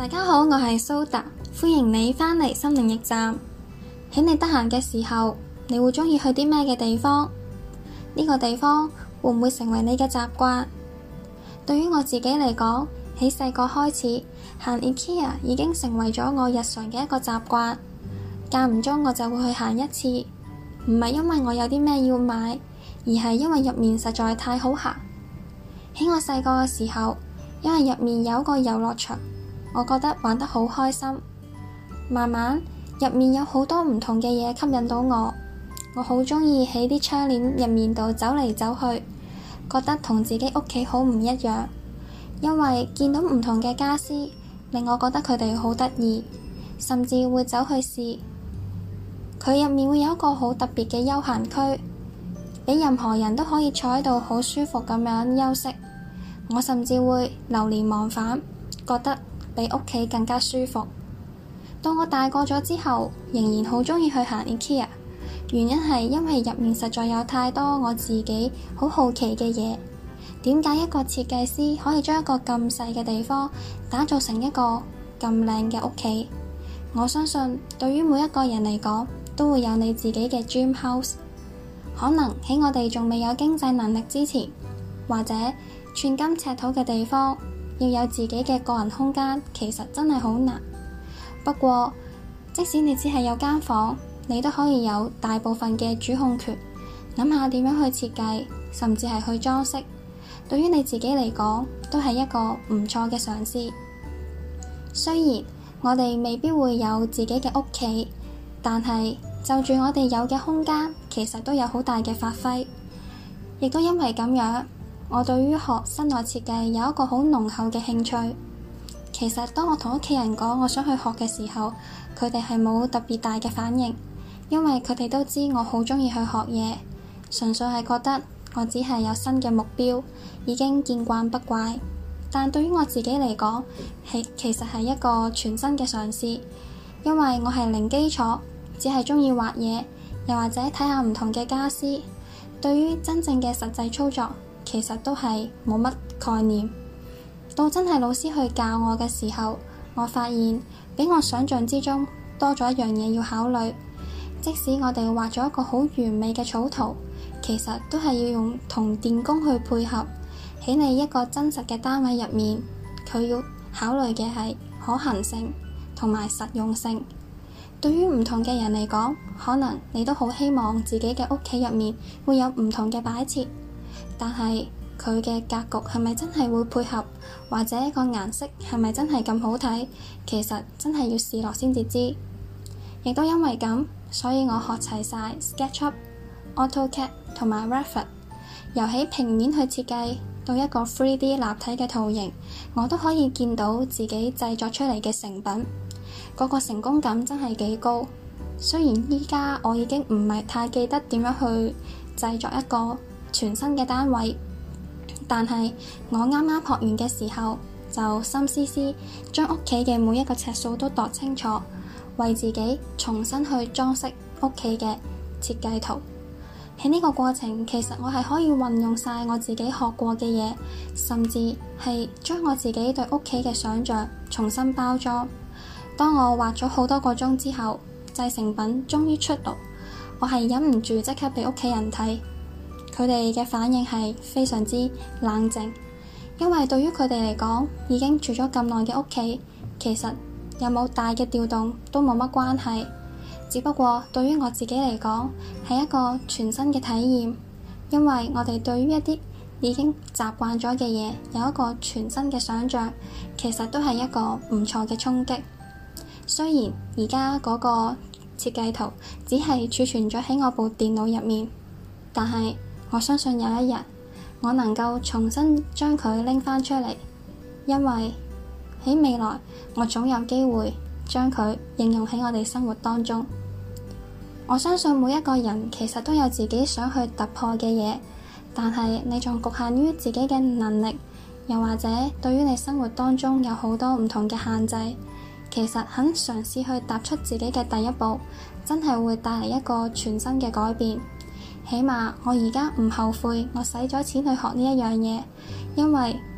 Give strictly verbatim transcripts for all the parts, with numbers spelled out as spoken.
大家好，我係蘇達，歡迎你返嚟心靈驛站。喺你得閒嘅時候，你會鍾意去啲咩嘅地方？呢個地方會唔會成為你嘅習慣？對於我自己嚟講，喺細個開始行 IKEA 已經成為咗我日常嘅一個習慣，間唔中我就會去行一次，唔係因為我有啲咩要買，而係因為入面實在太好行。喺我細個嘅時候，因為入面有一個遊樂場，我覺得玩得好開心。慢慢入面有好多唔同嘅嘢吸引到我，我好鍾意喺啲窗簾入面度走嚟走去，覺得同自己屋企好唔一樣。因為見到唔同嘅家私，令我覺得佢哋好得意，甚至會走去試。佢入面會有一個好特別嘅休閒區，俾任何人都可以坐喺度好舒服咁樣休息。我甚至會流連忘返，覺得比屋企更加舒服。到我大個咗之後，仍然好鍾意去行 IKEA， 原因係因為入面實在有太多我自己好好奇嘅嘢。點解一個設計師可以將一個咁細嘅地方打造成一個咁靚嘅屋企？我相信對於每一個人嚟講，都會有你自己嘅 dream house。可能喺我哋仲未有經濟能力之前，或者寸金尺土嘅地方，要有自己嘅個人空間，其實真係好難。不過即使你只係有間房，你都可以有大部分嘅主控權，諗下點樣去設計，甚至係去裝飾。對於你自己嚟講，都係一個唔錯嘅嘗試。雖然我哋未必會有自己嘅屋企，但係就住我哋有嘅空間，其實都有好大嘅發揮。亦都因為咁樣，我對於學室內設計有一個好濃厚嘅興趣。其實當我同屋企人講我想去學嘅時候，佢哋係冇特別大嘅反應，因為佢哋都知我好鍾意去學嘢，純粹係覺得我只係有新嘅目標，已經見慣不怪。但對於我自己嚟講，係其實係一個全新嘅嘗試，因為我係零基礎，只係鍾意畫嘢，又或者睇下唔同嘅家私。對於真正嘅實際操作，其實都係冇乜概念。到真係老師去教我嘅時候，我發現比我想象之中多咗一樣嘢要考慮。即使我哋畫咗一個好完美嘅草圖，其實都係要用同電工去配合。喺你一個真實嘅單位入面，佢要考慮嘅係可行性同埋實用性。對於唔同嘅人嚟講，可能你都好希望自己嘅屋企入面會有唔同嘅擺設，但係佢嘅格局係咪真係會配合，或者個顏色係咪真係咁好睇，其實真係要試落先至知。亦都因為咁，所以我學齊晒 SketchUp、AutoCAD 同埋 Revit， 由起平面去設計到一個 三 D 立體嘅圖形，我都可以見到自己製作出嚟嘅成品，嗰個成功感真係幾高。雖然依家我已經唔係太記得點樣去製作一個全新嘅單位，但係我啱啱學完嘅時候，就心思思將屋企嘅每一個尺數都度清楚，為自己重新去裝飾屋企嘅設計圖。喺呢個過程，其實我係可以運用晒我自己學過嘅嘢，甚至係將我自己對屋企嘅想像重新包裝。當我畫咗好多個鐘之後，製成品終於出爐，我係忍唔住即刻俾屋企人睇。佢哋嘅反應係非常之冷靜，因為對於佢哋嚟講，已經住咗咁耐嘅屋企，其實有冇大嘅調動都冇乜關係。只不過對於我自己嚟講，係一個全新嘅體驗，因為我哋對於一啲已經習慣咗嘅嘢有一個全新嘅想像，其實都係一個唔錯嘅衝擊。雖然而家嗰個設計圖只係儲存咗喺我部電腦入面，但係我相信有一日我能夠重新將佢拎返出嚟，因為喺未來我總有機會將佢應用喺我哋生活當中。我相信每一個人其實都有自己想去突破嘅嘢，但係你仲局限於自己嘅能力，又或者對於你生活當中有好多唔同嘅限制。其實肯嘗試去踏出自己嘅第一步，真係會帶嚟一個全新嘅改變。起碼我而家唔後悔我使咗錢去學呢一樣嘢，因為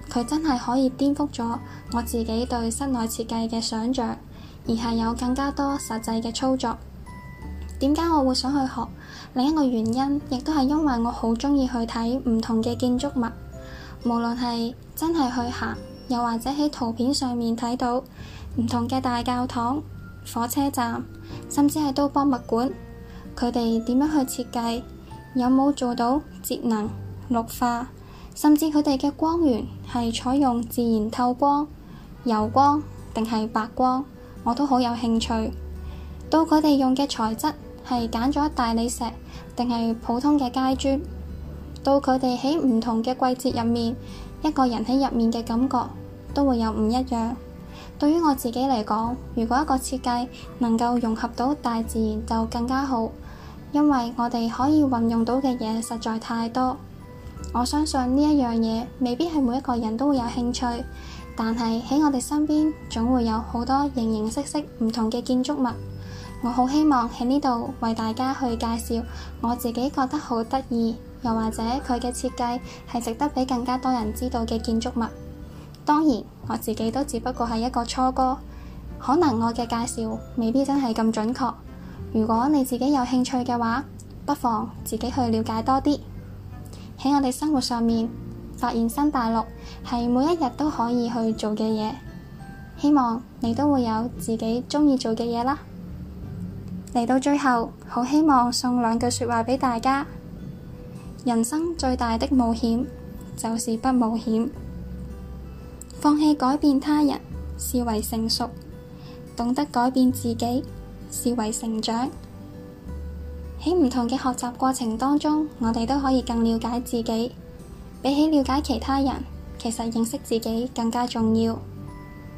佢真係可以顛覆咗我自己對室內設計嘅想像，而係有更加多實際嘅操作。點解我會想去學？另一個原因亦都係因為我好鍾意去睇唔同嘅建築物，無論係真係去行，又或者喺圖片上面睇到唔同嘅大教堂、火車站，甚至係到博物館，佢哋點樣去設計，有冇做到節能、綠化，甚至佢哋嘅光源係採用自然透光、柔光定係白光，我都好有興趣。到佢哋用嘅材質係揀咗大理石定係普通嘅階磚，到佢哋喺唔同嘅季節入面，一個人喺入面嘅感覺都會有唔一樣。對於我自己嚟講，如果一個設計能夠融合到大自然就更加好，因為我哋可以運用到嘅嘢實在太多。我相信呢一樣嘢未必係每一個人都會有興趣，但係喺我哋身邊總會有好多形形色色唔同嘅建築物。我好希望喺呢度為大家去介紹我自己覺得好得意，又或者佢嘅設計係值得俾更加多人知道嘅建築物。當然，我自己都只不過係一個初哥，可能我嘅介紹未必真係咁準確。如果你自己有興趣嘅話，不妨自己去了解多啲。喺我哋生活上面，發現新大陸係每一日都可以去做嘅嘢。希望你都會有自己鍾意做嘅嘢啦。嚟到最後，好希望送兩句說話俾大家。人生最大的冒險就是不冒險。放棄改變他人是為成熟，懂得改變自己是為成長。喺唔同嘅學習過程當中，我哋都可以更了解自己。比起了解其他人，其實認識自己更加重要。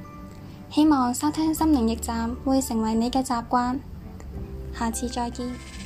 希望收聽心靈驛站會成為你嘅習慣。下次再見。